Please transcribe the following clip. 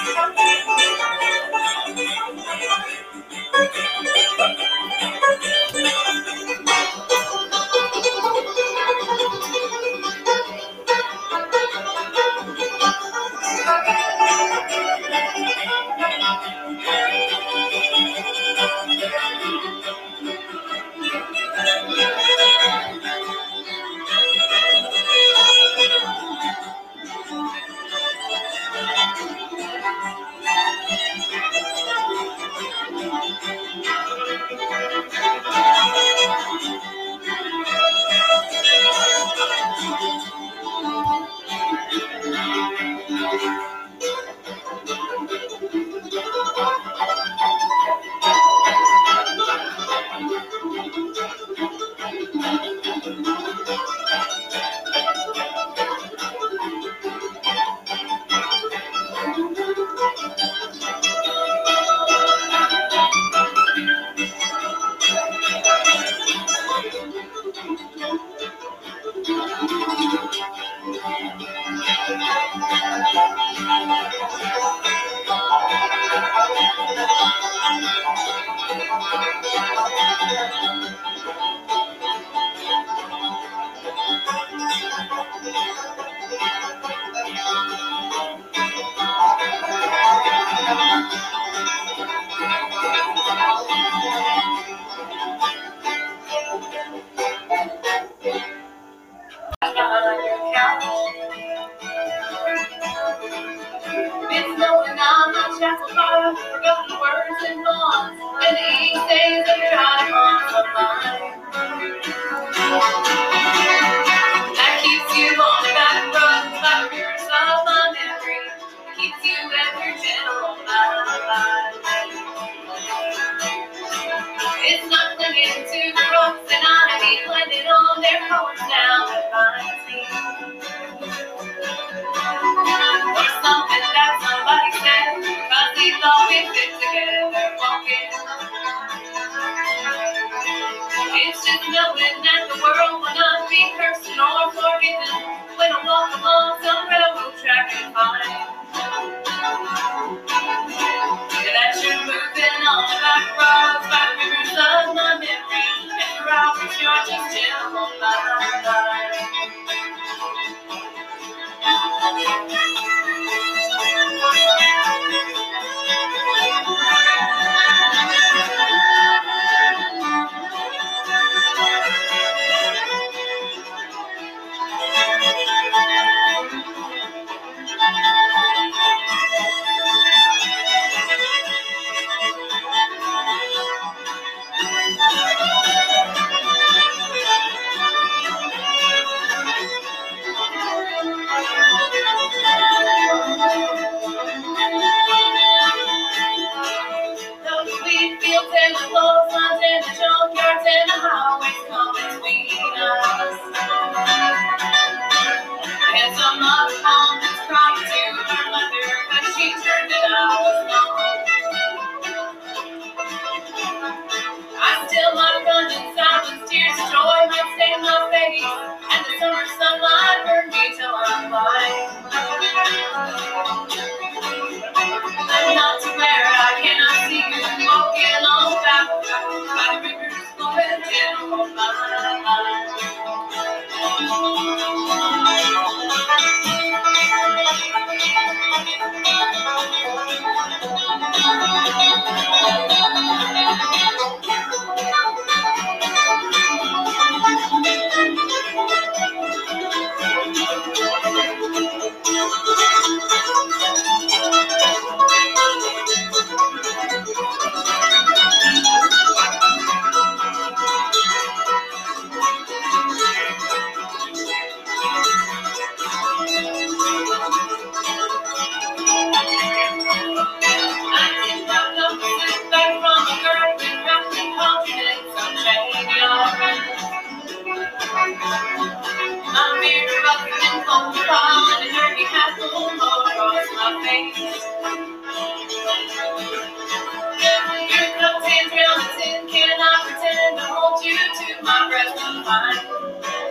It's knowing I'm not shackled by forgotten words and bonds, and these days of trying on the line. That keeps you on the back road, by the rivers of my memory. Keeps you ever gentle on my line. It's not clinging to the ropes, and I be blended on their colors now that I see. Or something that somebody said, cause we thought we fit together walking. It's just knowing that the world will not be cursed or forgiven when I walk along some railroad track and find that you're moving on the back roads, by the rivers of my memory, and for hours you're just gentle on my line. Those sweet fields and the clotheslines and the junkyards and the highways come between us. And some other mom that's crying to her mother cause she turned it out was gone. I still might run in silence, tears of joy might stain my face, and the summer sunlight burned me till I'm blind. I'm not to where I cannot see you walking on the back road, by the rivers flowing gentle on my line. My mirror up and cold pond, and dirty hat all across my face. Your cup hands round a tin can, I pretend to hold you to my breast and fine.